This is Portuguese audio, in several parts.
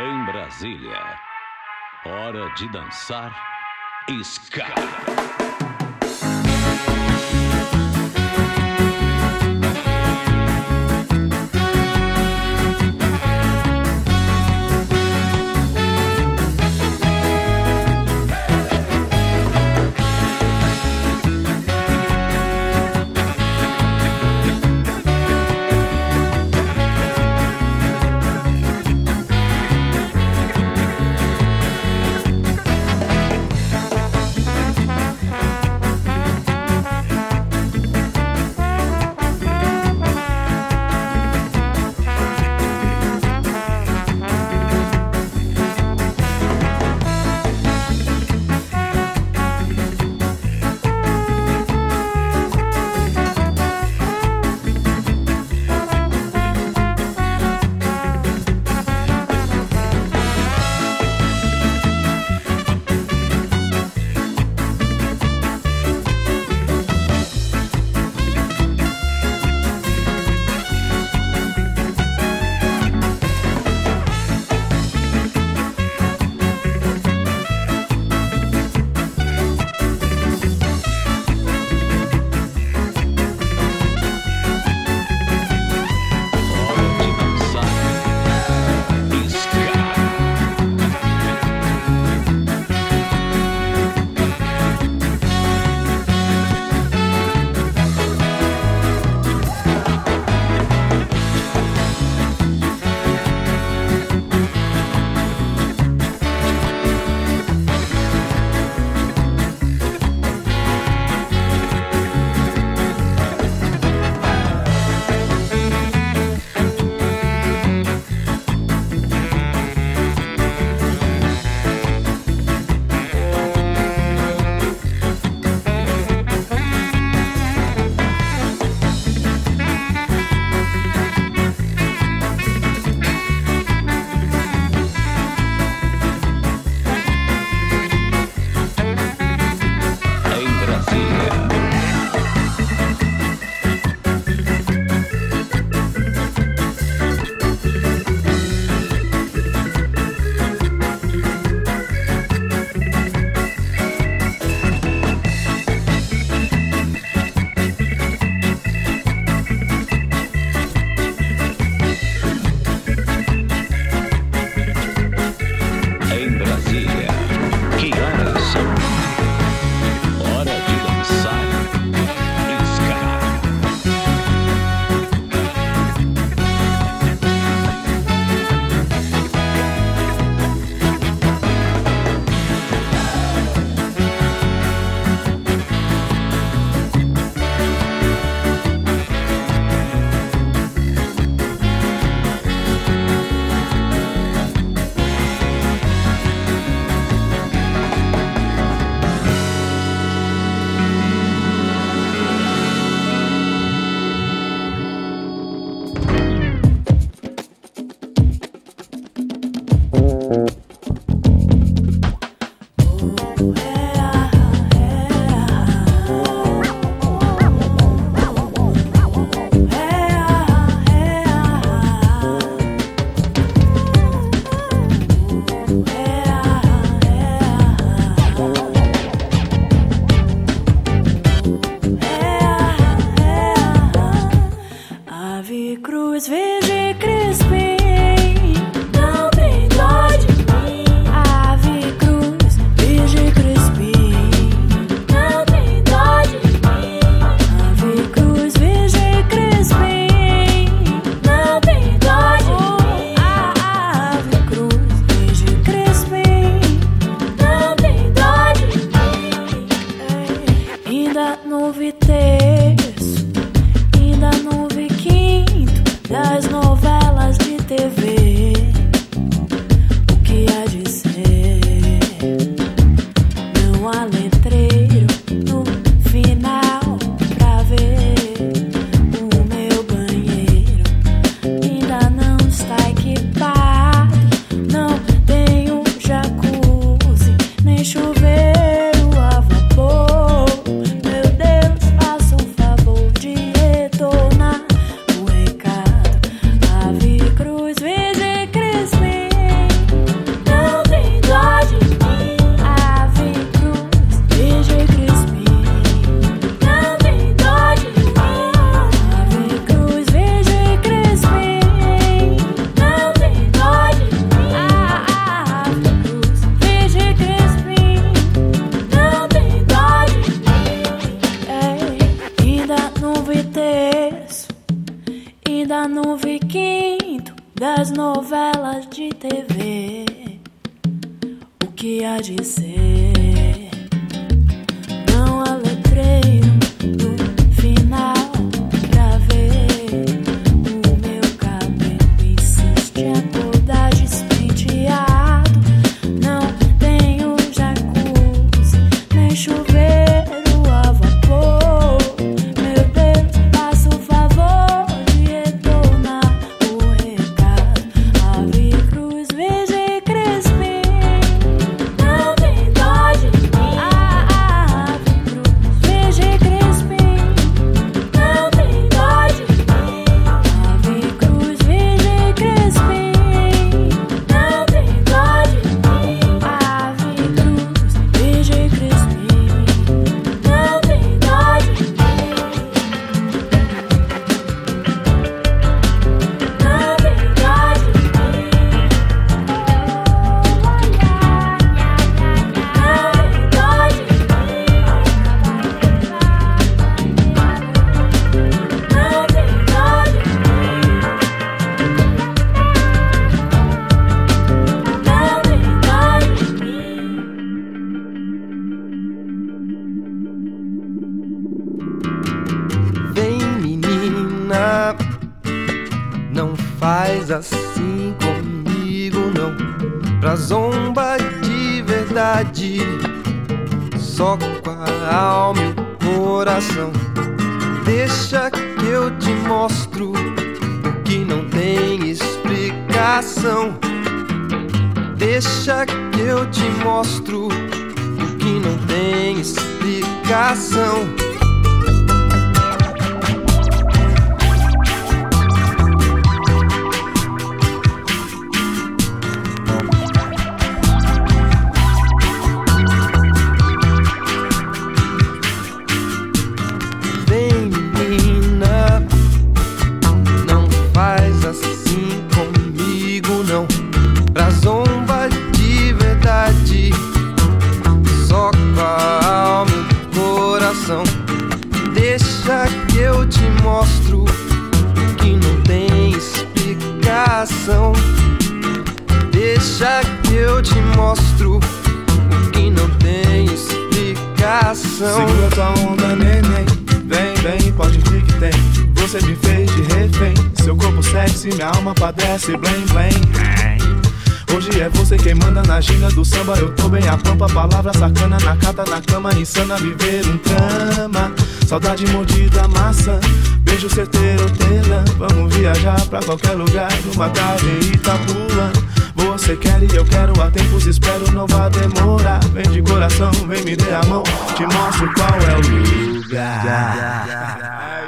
Em Brasília, hora de dançar ska. de ser. Não há letreiro no final pra ver o meu cabelo insiste a toda despenteado. Não tenho jacuzzi nem chuveiro a vapor. Meu Deus, faça o favor de retornar o recado. Ave Cruz, Virgem Crispim, não tem dó de mim. Ave Cruz, Virgem Crispim, não tem dó de mim. Ave Cruz, Virgem Crispim, não tem dó de mim. Ave Cruz, Virgem Crispim, não tem dó de mim. Não tem dó de mim. Vem, menina, não faz assim comigo, não. Pra zomba de verdade, só com a alma e o coração. Deixa que eu te mostro o que não tem explicação. Deixa que eu te mostro o que não tem explicação. Vem, menina, não faz assim comigo, não. Pra zomba de verdade, só com a alma e o coração. Deixa que eu te mostro o que não tem explicação. Deixa que eu te mostro o que não tem explicação. Segura tua onda, neném. Vem, vem, pode vir que tem. Você me fez de refém. Seu corpo sexy, minha alma padece, blém, blém. Hoje é você quem manda na ginga do samba. Eu tô bem a pampa, palavra sacana na cata, na cama, insana, viver um trama. Saudade mordida, maçã, beijo certeiro, hortelã. Vamos viajar pra qualquer lugar, numa tarde em Itapula. Você quer e eu quero, há tempos espero, não vai demorar. Vem de coração, vem me dê a mão, te mostro qual é o lugar.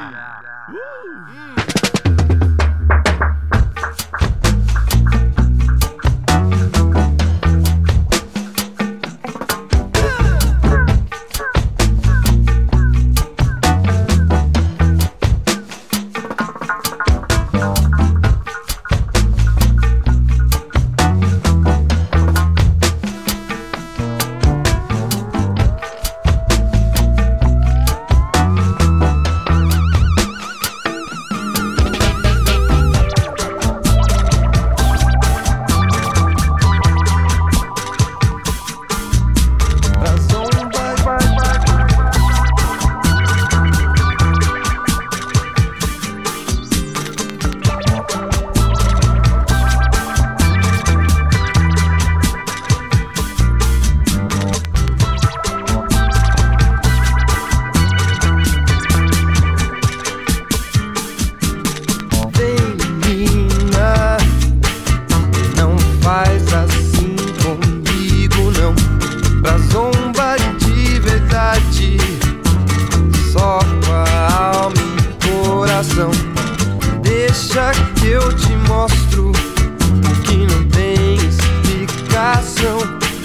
Deixa que eu te mostro o que não tem explicação.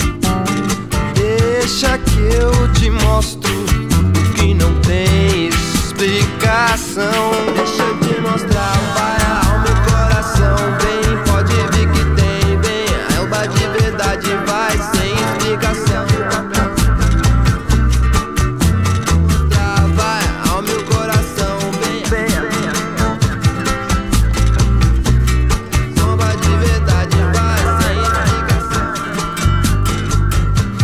Deixa que eu te mostro o que não tem explicação. Deixa eu te mostrar, vai a alma e o coração. Vem, pode vir que tem, vem. A alma de verdade vai sem explicação. Vai a alma e o coração, vem. Samba de verdade vai sem explicação.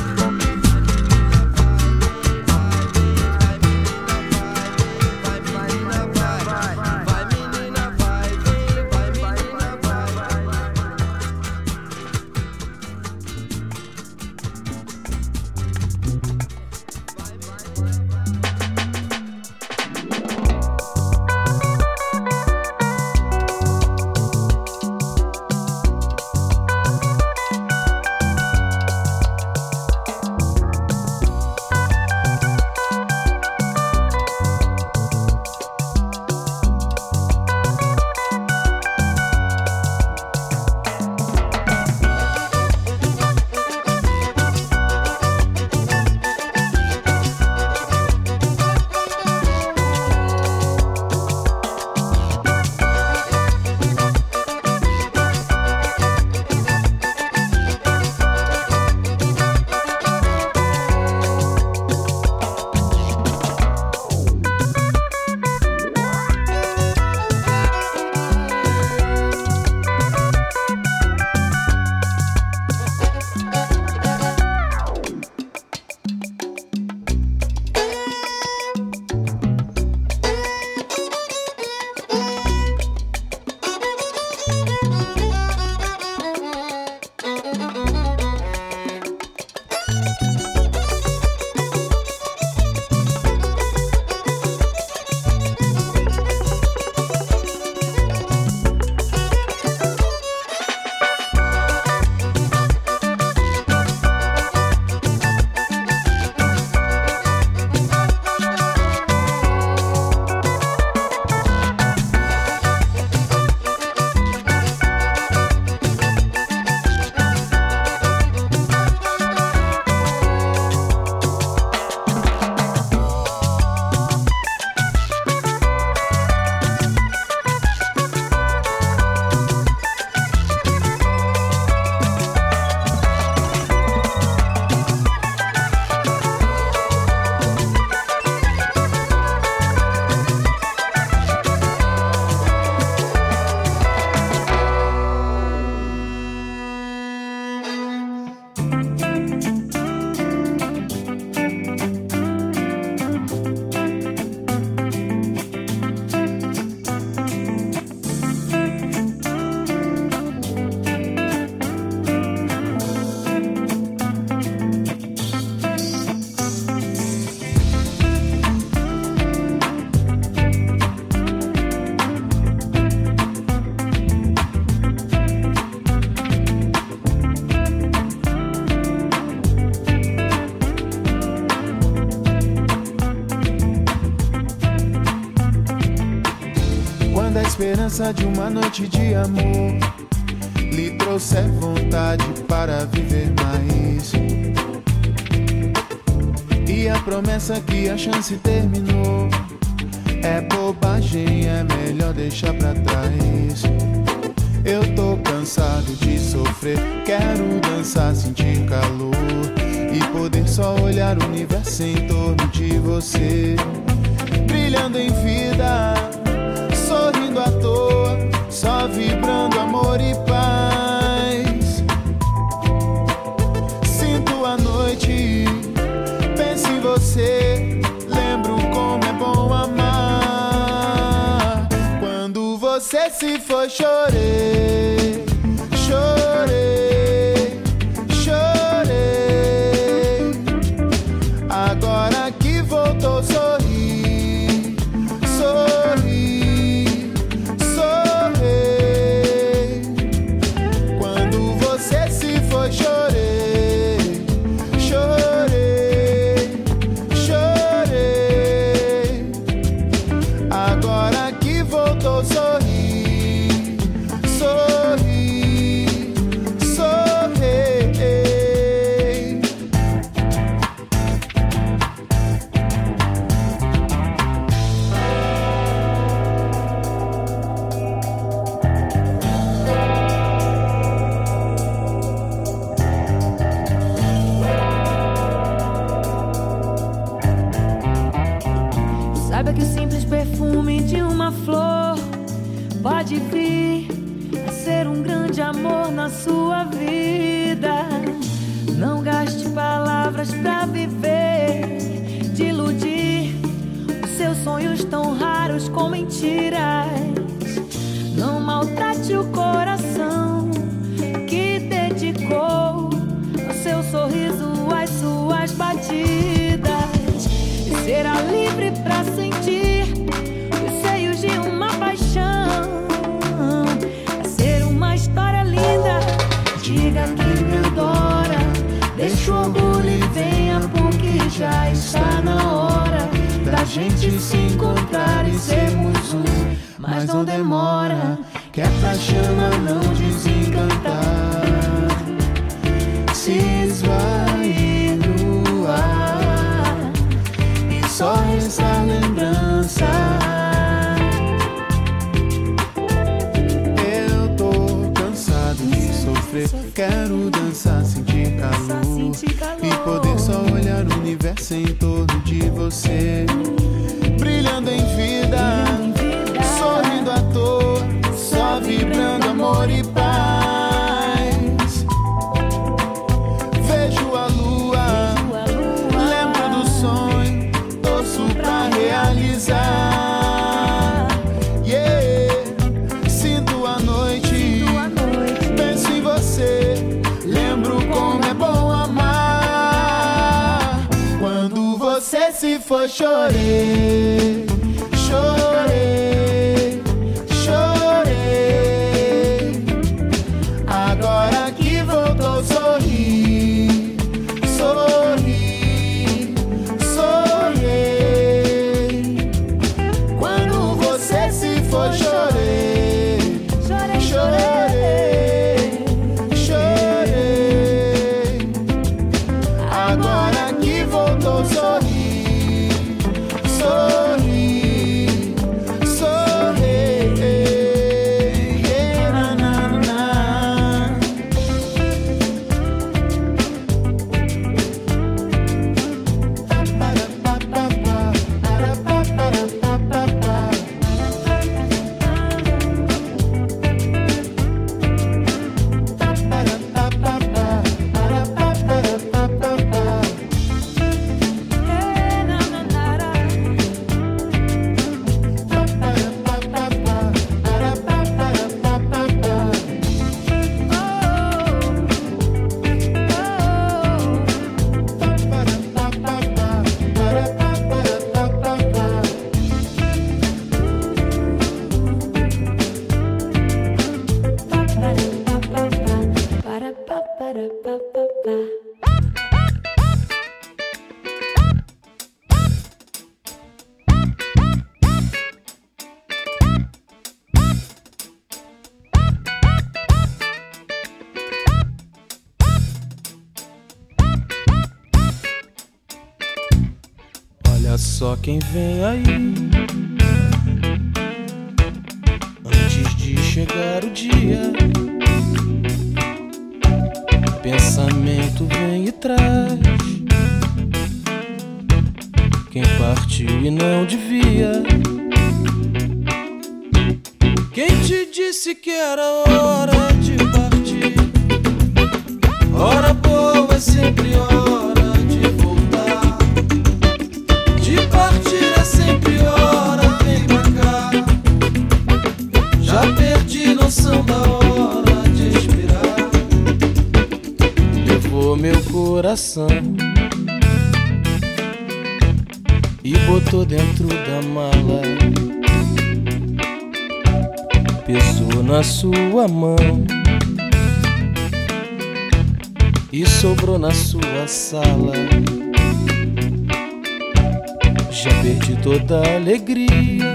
esperança de uma noite de amor lhe trouxe vontade para viver mais. E a promessa que a chance terminou é bobagem, é melhor deixar pra trás. Eu tô cansado de sofrer, quero dançar, sentir calor e poder só olhar o universo em torno de você, brilhando em vida, sorrindo à toa, só vibrando amor e paz. Sinto a noite, penso em você, lembro como é bom amar. Quando você se foi, chorei, chorei, chorei. Agora que voltou, sorri, sorri, sorri. Quando você se foi, chorei, chorei, chorei. Agora que voltou, sorri, sorri, sorri. Saiba que o simples perfume de uma flor pode vir a ser um grande amor na sua vida. Não gaste palavras pra viver, de iludir os seus sonhos tão raros com mentiras. Não maltrate o coração que dedicou ao seu sorriso, às suas batidas. E será livre pra sentir os seios de uma paixão. Vai ser uma história linda. Diga que me adora, deixa o orgulho e venha, porque já está na hora da gente se encontrar e sermos um. Mas não demora, que é pra chama não desencantar, se esvair no ar e só restar lembrança. Eu tô cansado de sofrer, quero dançar, sentir calor e poder só olhar o universo em torno de você, brilhando em vida, sorrindo à toa, só vibrando amor e paz. Vejo a lua, lembro do sonho, torço pra realizar. Yeah, sinto a noite, penso em você, lembro como é bom amar. Quando você se foi, chorei, chorei, chorei. Agora que voltou, sorri, sorri, sorri. Quando você se foi, chorei, chorei, chorei. Agora que voltou, sorri, sorri, sorri. Yeah, na, na, na. Olha só quem vem aí, antes de chegar o dia. Pensamento vem e traz quem partiu e não devia. Quem te disse que era hora de partir? Hora boa é sempre hora de voltar. De partir é sempre hora, vem pra cá. Já perdi noção da hora de expirar. Levou meu coração e botou dentro da mala. Pesou na sua mão e sobrou na sua sala. Já perdi toda a alegria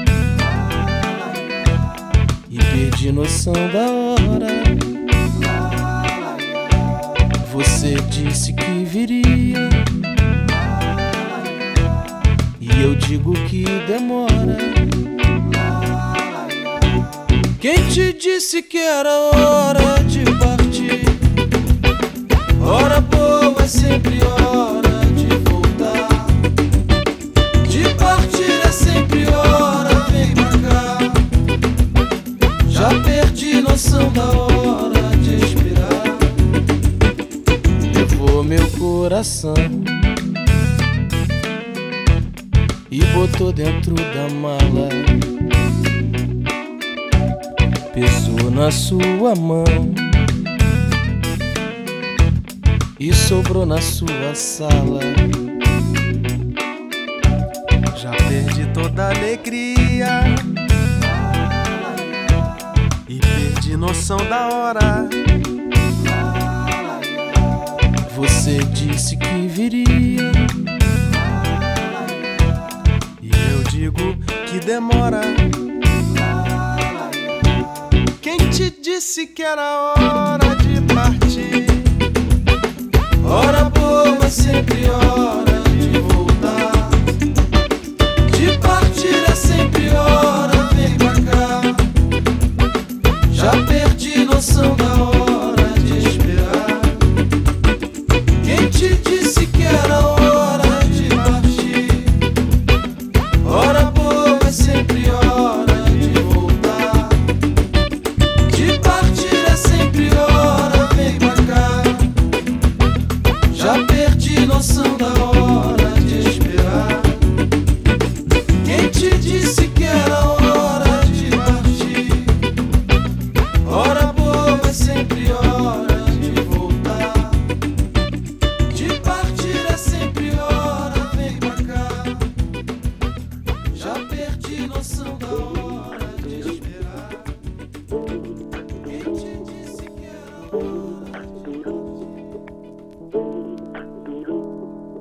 e perdi noção da hora. Você disse que viria e eu digo que demora. Quem te disse que era hora de partir? Hora boa é sempre hora de voltar. De partir é sempre hora, vem pra cá. Já perdi noção da hora de expirar. Levou meu coração e botou dentro da mala. Pesou na sua mão e sobrou na sua sala. Já perdi toda a alegria e perdi noção da hora. Você disse que viria e eu digo que demora. Quem te disse que era hora de partir? Hora boa é sempre hora de voltar. De partir é sempre hora, vem pra cá. Já perdi noção da hora de esperar. Quem te disse que era hora de partir? Hora boa é sempre hora de voltar. De partir é sempre hora, vem pra cá. Já perdi noção da hora de esperar. Quem te disse que era hora de partir? Hora boa é sempre hora de voltar. De partir é sempre hora, vem pra cá. Já perdi noção da hora de esperar. Quem te disse que era hora de partir?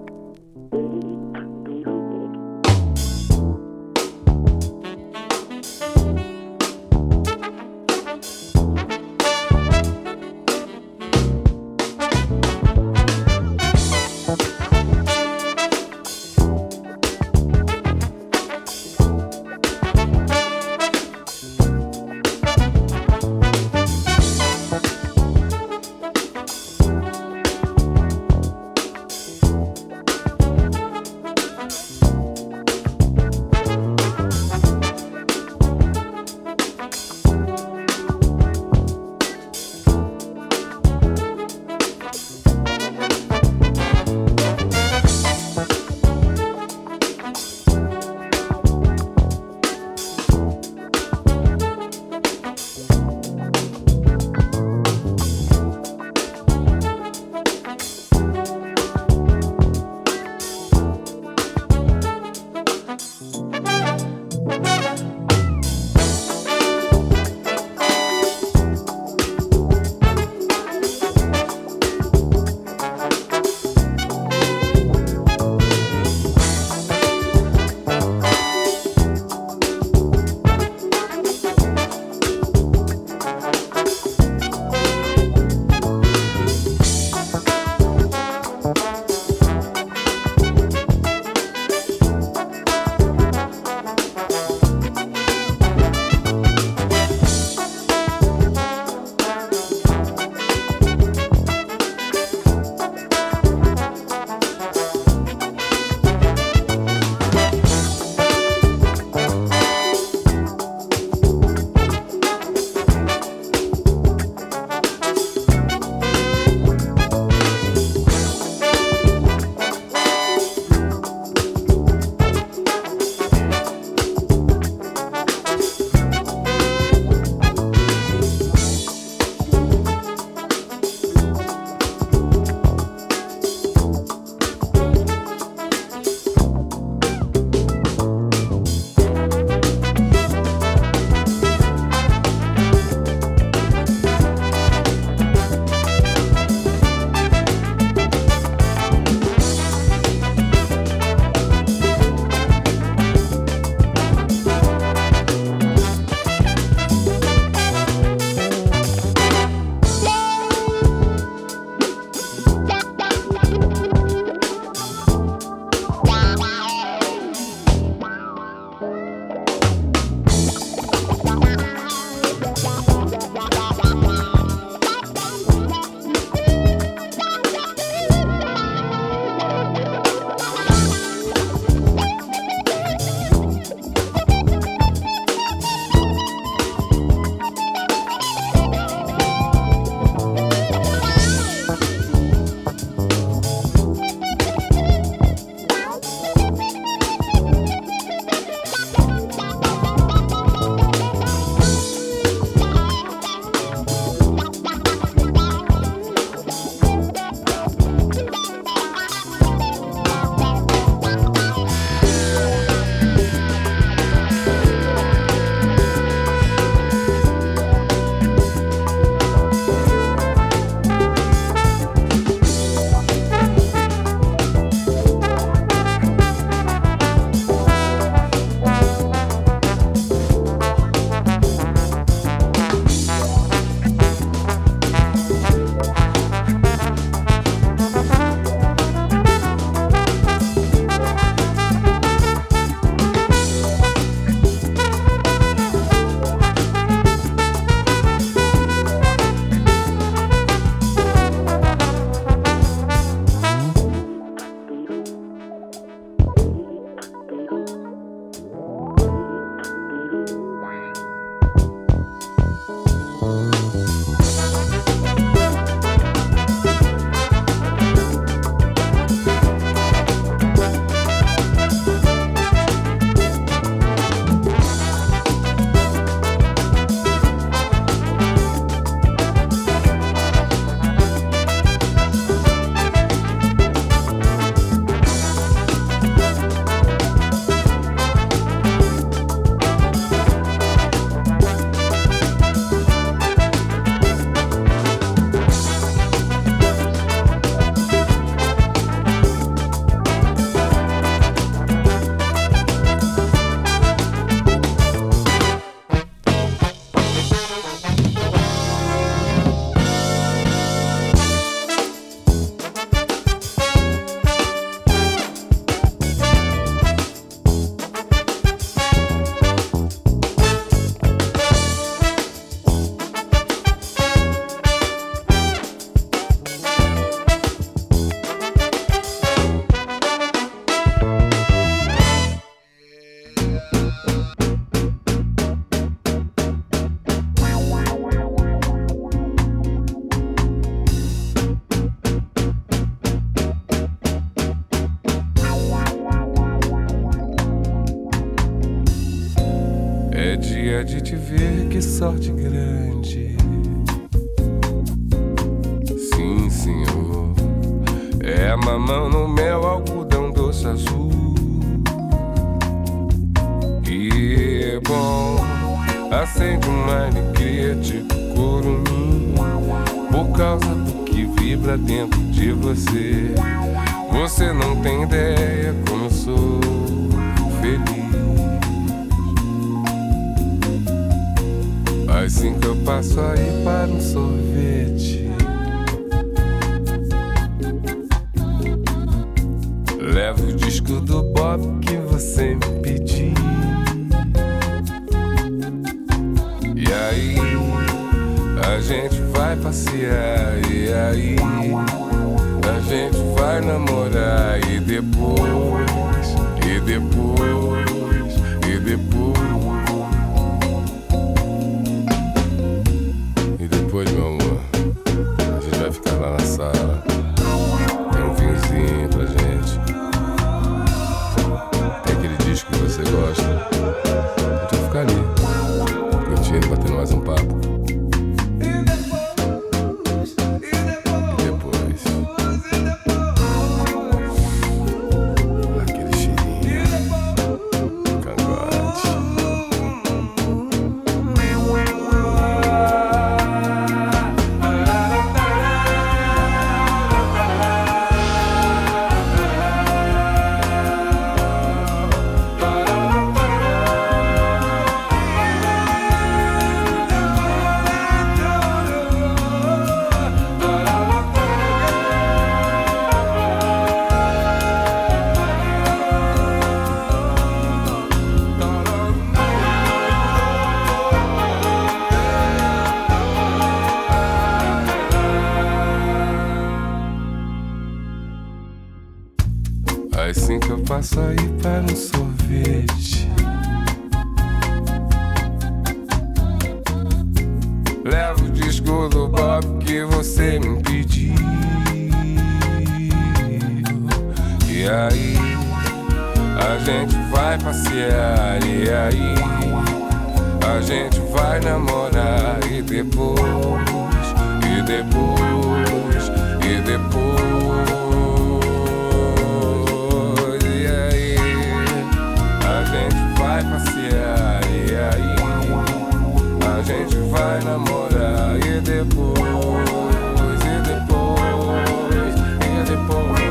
dia de te ver, que sorte grande. Sim, senhor. É mamão no mel, algodão doce azul. E é bom, acende uma alegria tipo curumim, por causa do que vibra dentro de você. Você não tem ideia como eu sou feliz. Assim que eu passo aí para um sorvete, levo o disco do Bob que você me pediu. E aí, a gente vai passear. E aí, a gente vai namorar. E depois, e depois, e depois. E depois, meu amor, a gente vai ficar lá na sala. Tem um vinhozinho pra gente. Tem aquele disco que você gosta. A gente vai ficar ali, curtindo, batendo mais um papo. Assim que eu passo aí para um sorvete, levo o disco do Bob que você me pediu. E aí, a gente vai passear. E aí, a gente vai namorar. E depois, e depois, e depois. Vai passear, e aí a gente vai namorar. E depois, e depois, e depois.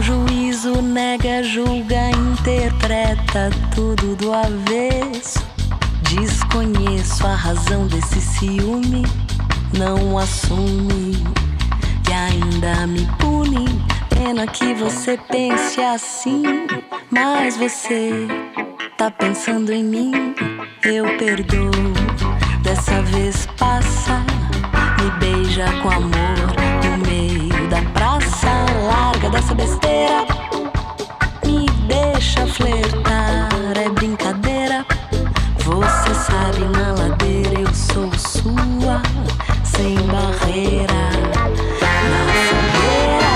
juízo, nega, julga, interpreta tudo do avesso. Desconheço a razão desse ciúme, não assume e ainda me pune. Pena que você pense assim, mas você tá pensando em mim. Eu perdoo, dessa vez passa, me beija com amor no meio da praça. Larga dessa besteira, me deixa flertar, é brincadeira. Você sabe, na ladeira eu sou sua, sem barreira. Na fogueira,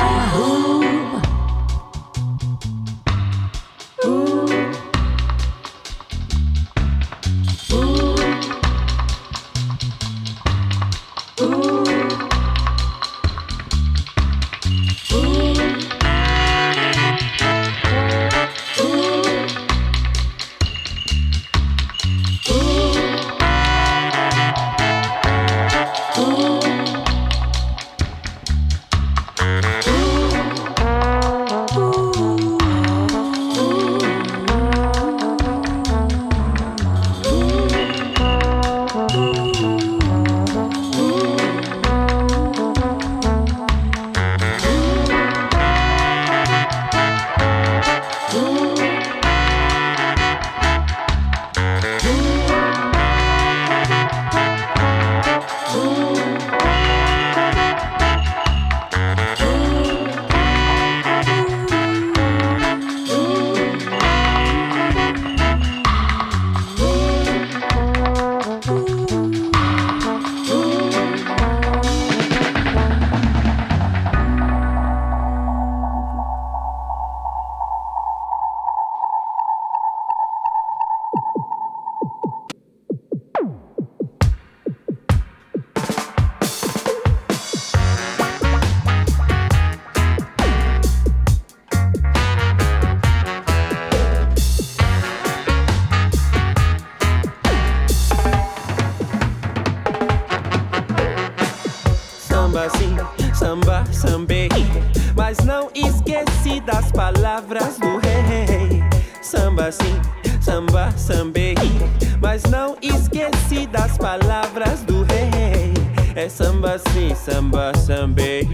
samba, sambei, mas não esqueci das palavras do rei. Samba sim, samba, sambei, mas não esqueci das palavras do rei. É samba sim, samba, sambei,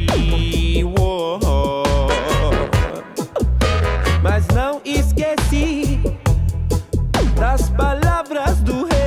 mas não esqueci das palavras do rei.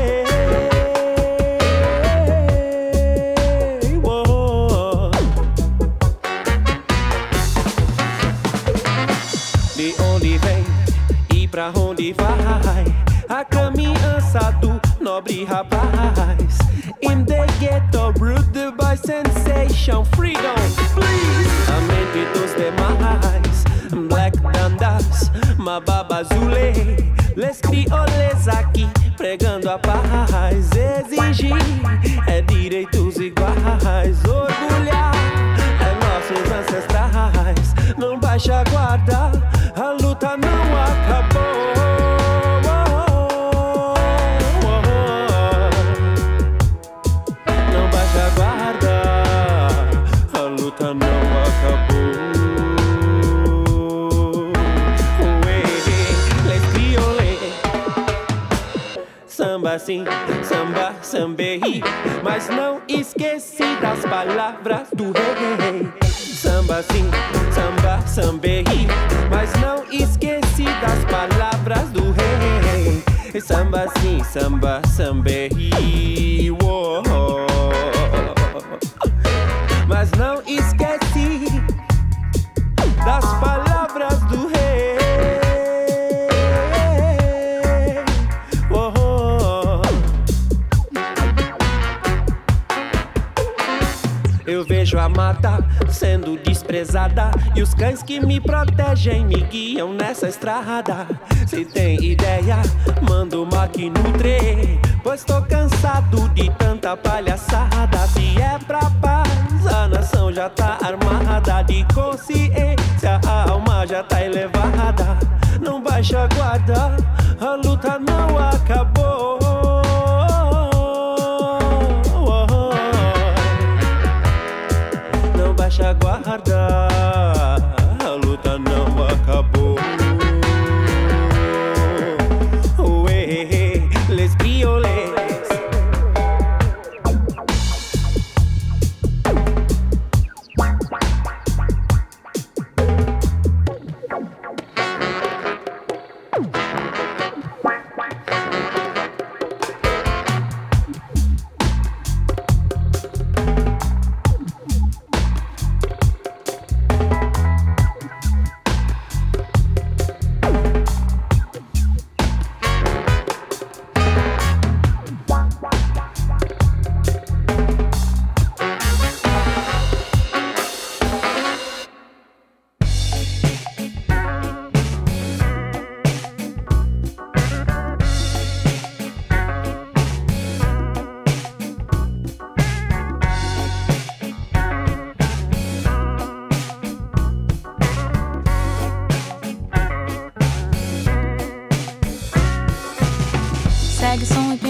De onde vem e pra onde vai a caminhança do nobre rapaz? In the ghetto, ruled by sensation, freedom, please. A mente dos demais, Black Dandas, Mababa Zule, les crioles aqui pregando a paz. Exigir é direitos iguais, orgulhar é nossos ancestrais. Não baixa a guarda, a luta não acabou. Não baixa a guarda, a luta não acabou. Les crioles, samba sim, samba, sambei, mas não esqueci das palavras do rei. Samba sim, samba, sambei, mas não esqueci das palavras do rei. Samba sim, samba, sambei, mas não esqueci das palavras do rei. Eu vejo a mata sendo desprezada e os cães que me protegem me guiam nessa estrada. Se tem ideia, manda uma aqui no trem, pois tô cansado de tanta palhaçada. Se é pra paz, a nação já tá armada. De consciência, a alma já tá elevada. Não baixa a guarda, a luta não acabou. Não baixa a guarda, a luta não acabou.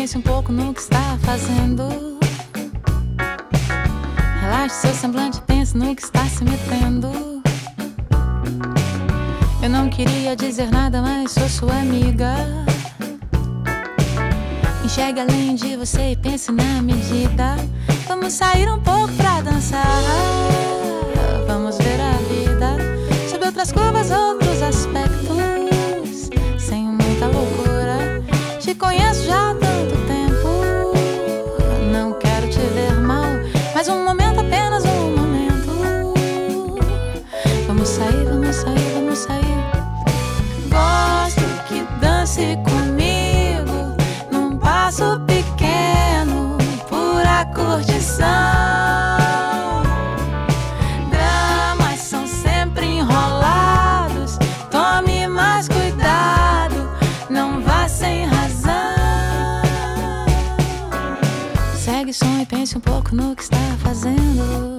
pense um pouco no que está fazendo. Relaxe seu semblante, pense no que está se metendo. Eu não queria dizer nada, mas sou sua amiga. Enxergue além de você e pense na medida. Vamos sair um pouco pra dançar. Vamos ver a vida sob outras curvas, outros aspectos, sem muita loucura. Te conheço já há tanto tempo. Não quero te ver mal, mas um momento, apenas um momento. Vamos sair, vamos sair, vamos sair. Gosto que dance comigo num passo pequeno, pura curtição. Dramas são sempre enrolados. Tome mais cuidado, não vá sem razão. Segue o som e pense um pouco no que está fazendo.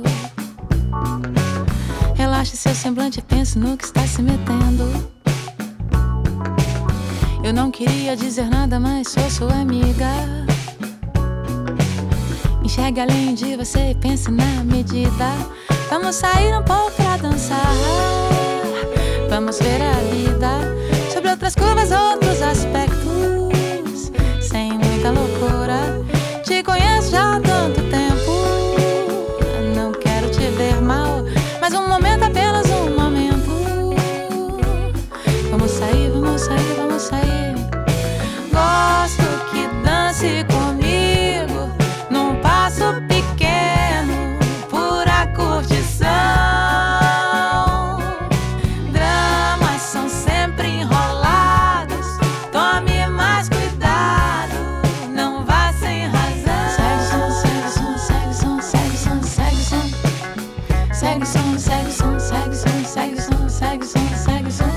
Relaxe seu semblante e pense no que está se metendo. Eu não queria dizer nada, mas sou sua amiga. Enxergue além de você e pense na medida. Vamos sair um pouco pra dançar. Vamos ver a vida sobre outras curvas, outros aspectos, sem muita loucura. Te conheço já há tanto tempo. Não quero te ver mal, mas um momento, apenas um momento. Vamos sair, vamos sair, vamos sair. Gosto que dance comigo num passo pequeno, pura curtição. Dramas são sempre enrolados. Tome mais cuidado, não vá sem razão. Segue o som, segue o som, segue o som, segue o som, segue o som. Segue o som, segue o som, segue o som, segue o som, segue o som, segue o som.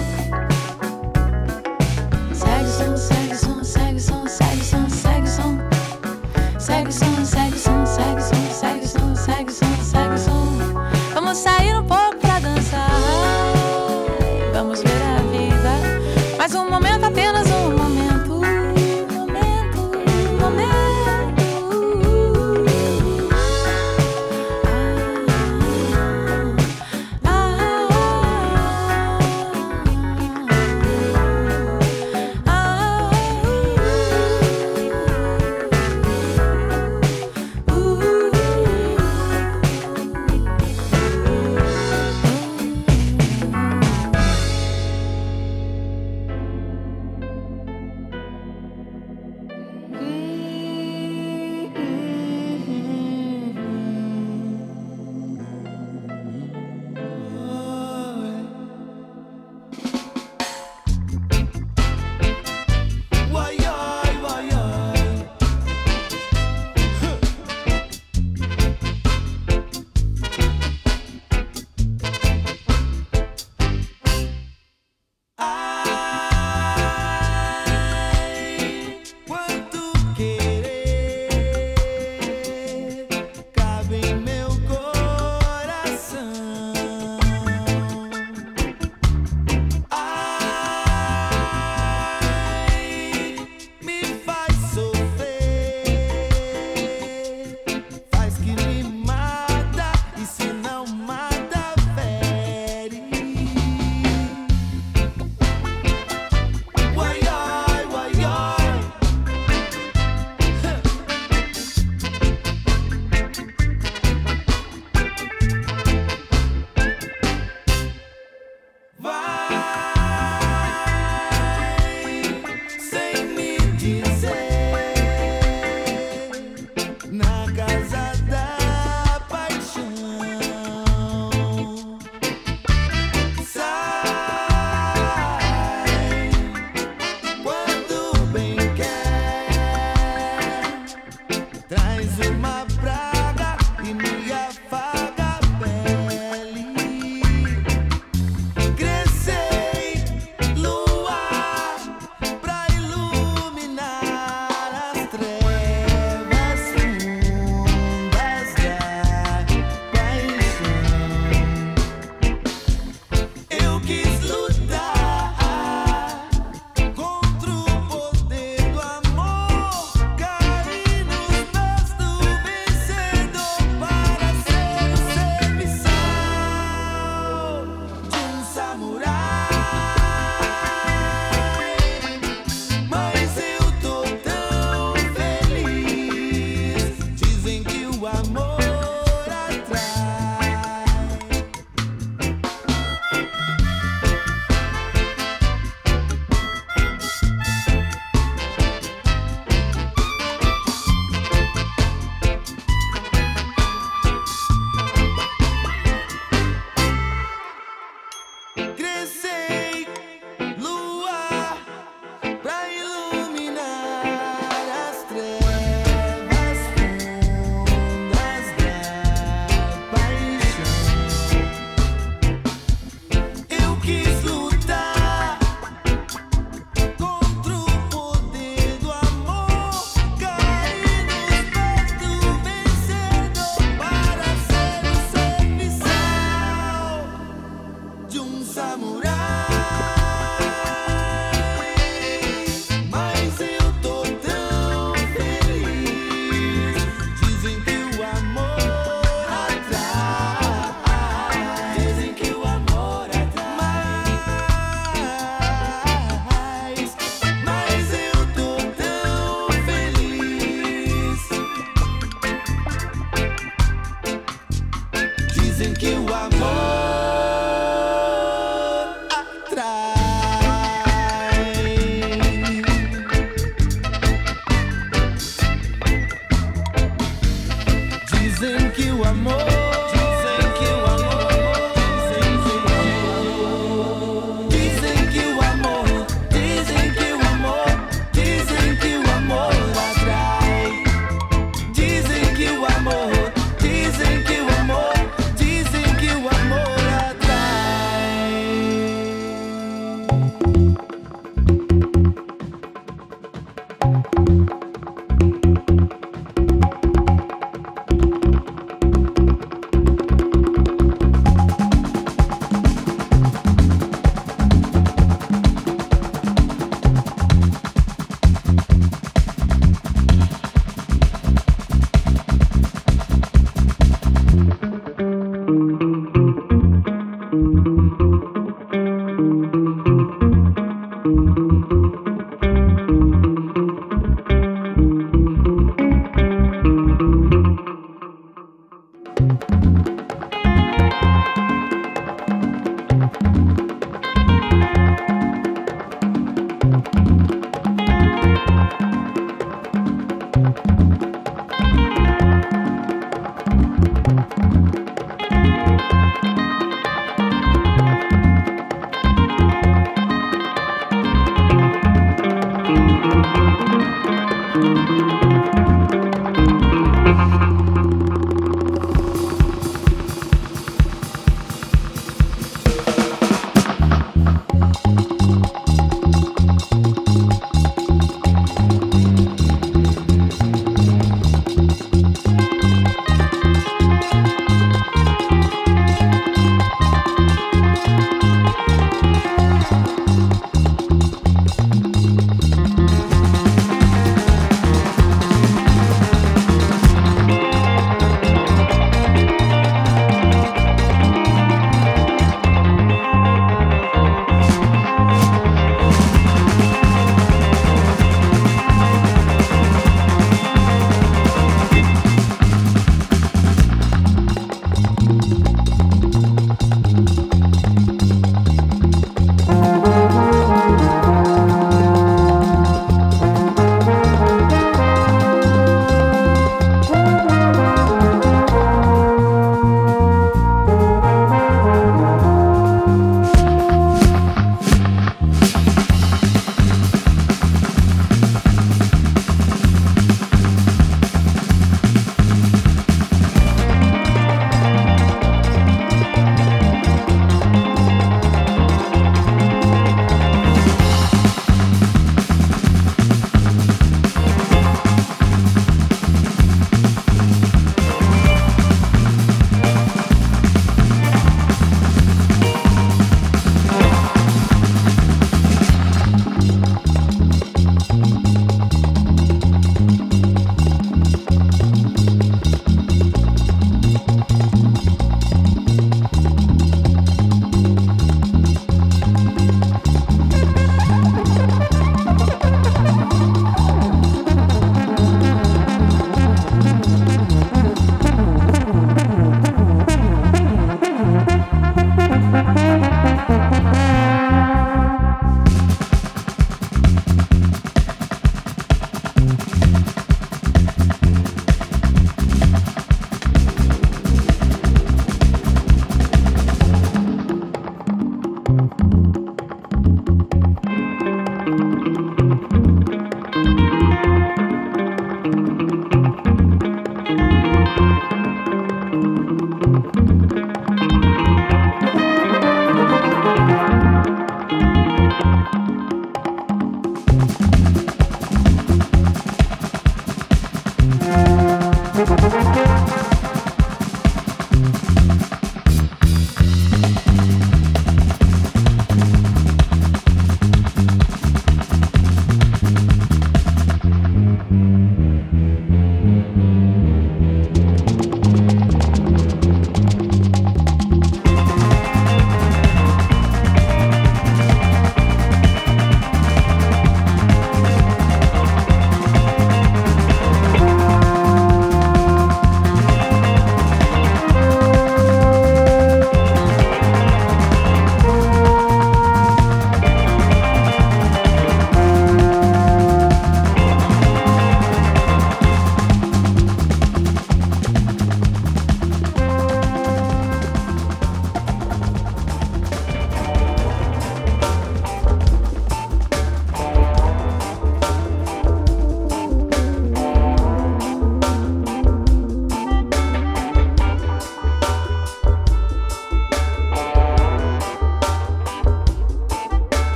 Segue o som, segue o som, segue o som, segue o som, segue o som. Segue o som, segue o som, segue o som, segue o som, segue o som, segue o som. Vamos sair um pouco pra dançar. Vamos ver a vida, mais um momento, apenas um momento. Momento, momento. crescer lua pra iluminar as trevas fundas da paixão. Eu quis lutar contra o poder do amor, cair nos pés do vencedor para ser o serviçal de um samurai. Mas eu tô tão feliz. Dizem que o amor atrai. Dizem que o amor atrai. Mas eu tô tão feliz. Dizem que o amor atrai.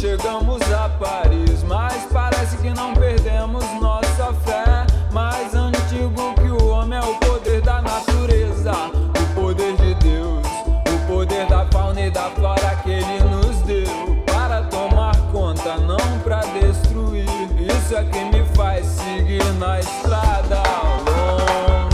chegamos a Paris, mas parece que não perdemos nossa fé. Mais antigo que o homem é o poder da natureza, o poder de Deus, o poder da fauna e da flora que Ele nos deu para tomar conta, não pra destruir. Isso é que me faz seguir na estrada longa.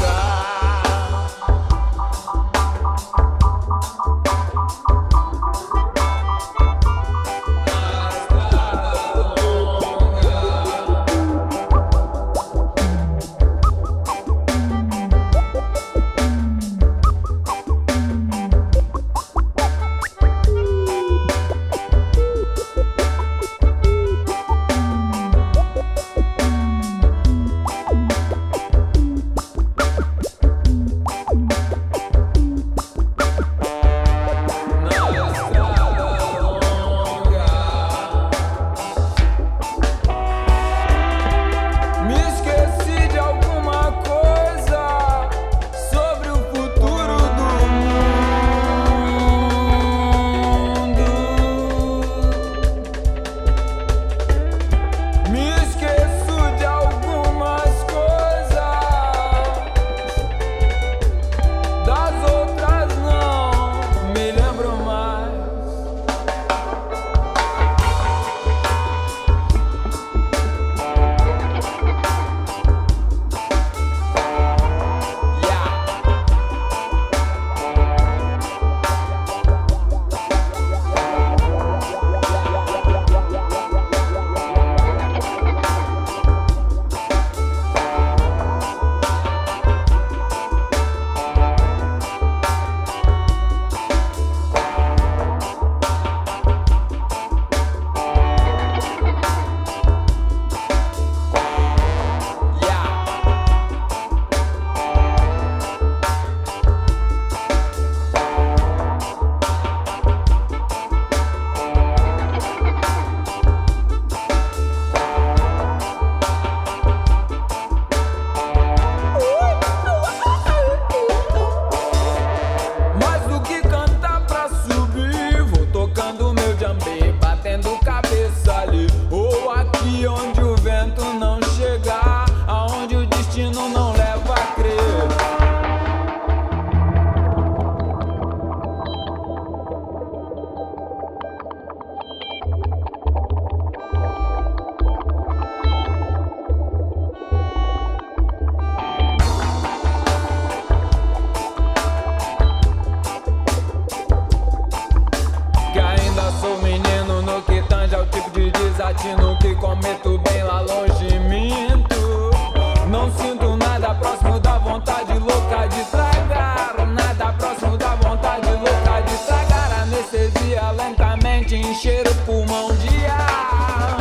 latino que cometo bem lá longe, minto. Não sinto nada próximo da vontade louca de tragar. Nada próximo da vontade louca de tragar. Anestesia lentamente encher o pulmão de ar.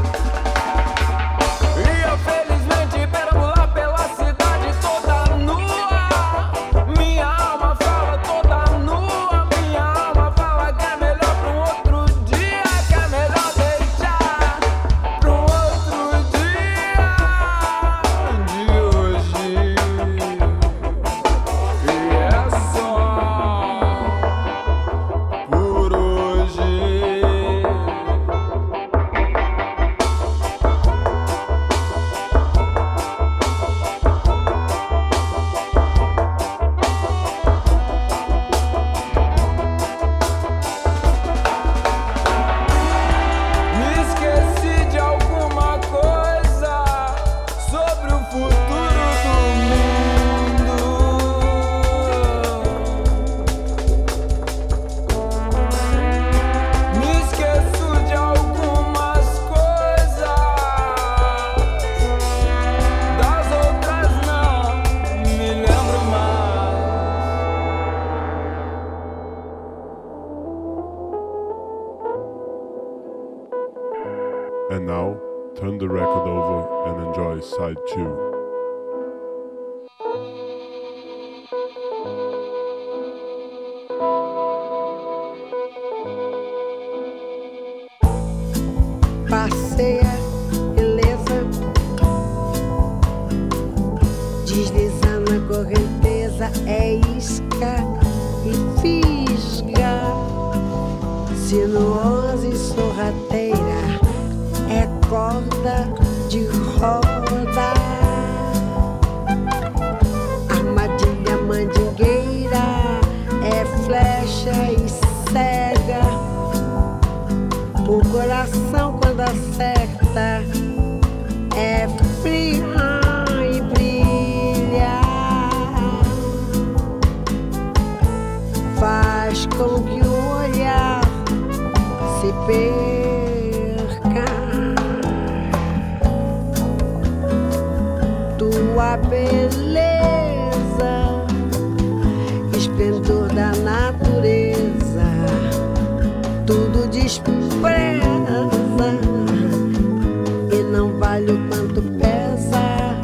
E eu felizmente perambular pela cidade toda nua. Minha alma fala toda nua. Minha alma fala que é melhor pra um outro dia. Que é melhor deixar pra um outro dia de hoje. E é só por hoje. Me esqueci de alguma coisa sobre o futuro do mundo. Me esqueço de algumas coisas, das outras não me lembro mais. And now, turn the record over and enjoy side 2. Passeia, beleza, desliza na correnteza, é isca e fisga, sinuosa e sorrateira, coração quando acerta é frio e brilha, faz com que o olhar se perca. Tua beleza, esplendor da natureza, tudo despreza e não vale o quanto pesa.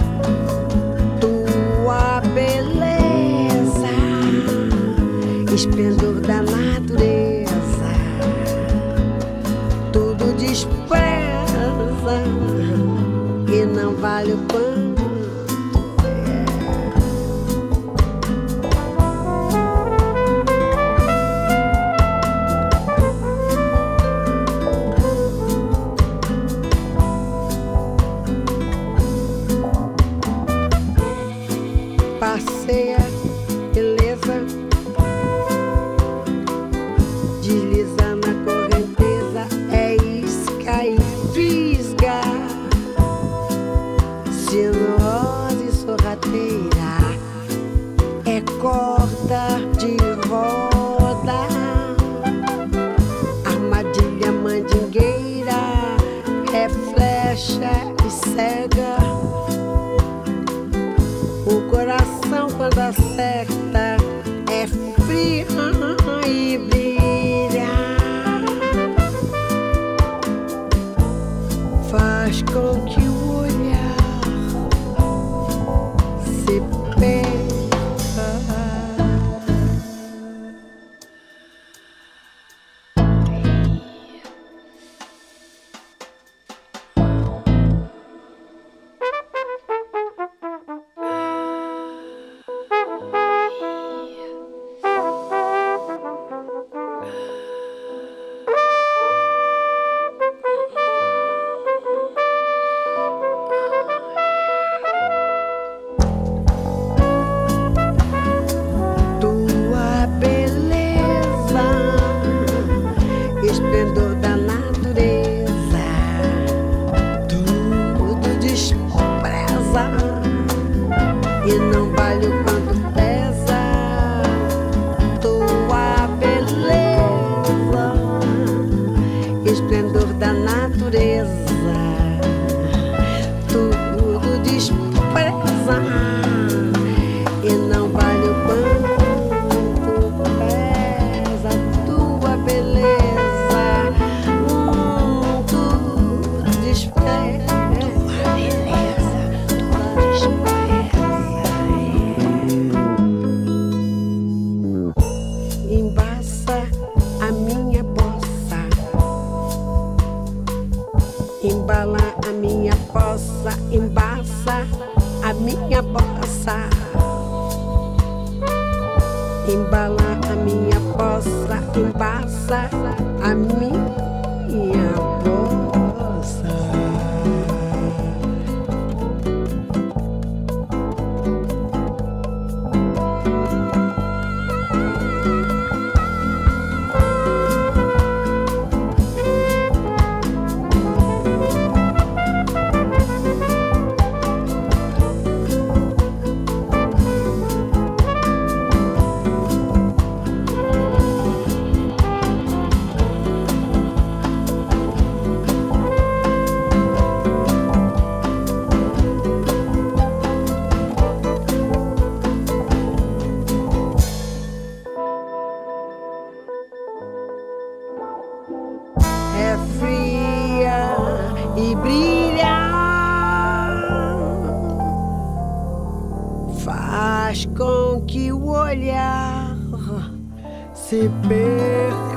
Tua beleza, esplendor da natureza, tudo despreza e não vale o quanto. Passeia, beleza, desliza na correnteza, é isca e fisga, sinuosa e sorrateira, é corda de roda, armadilha mandingueira, é flecha e cega. O coração quando acerta é frio e brilha, faz com que o olhar se perca. Esplendor da natureza, tudo despreza e não vale o quanto pesa. Tua beleza, esplendor da natureza, tudo despreza e não vale o quanto pesa. Tua beleza, embaça a minha bossa, embala a minha poça, embaça a minha bossa, embala a minha poça, embaça a minha bossa. É fria e brilha, faz com que o olhar se perca.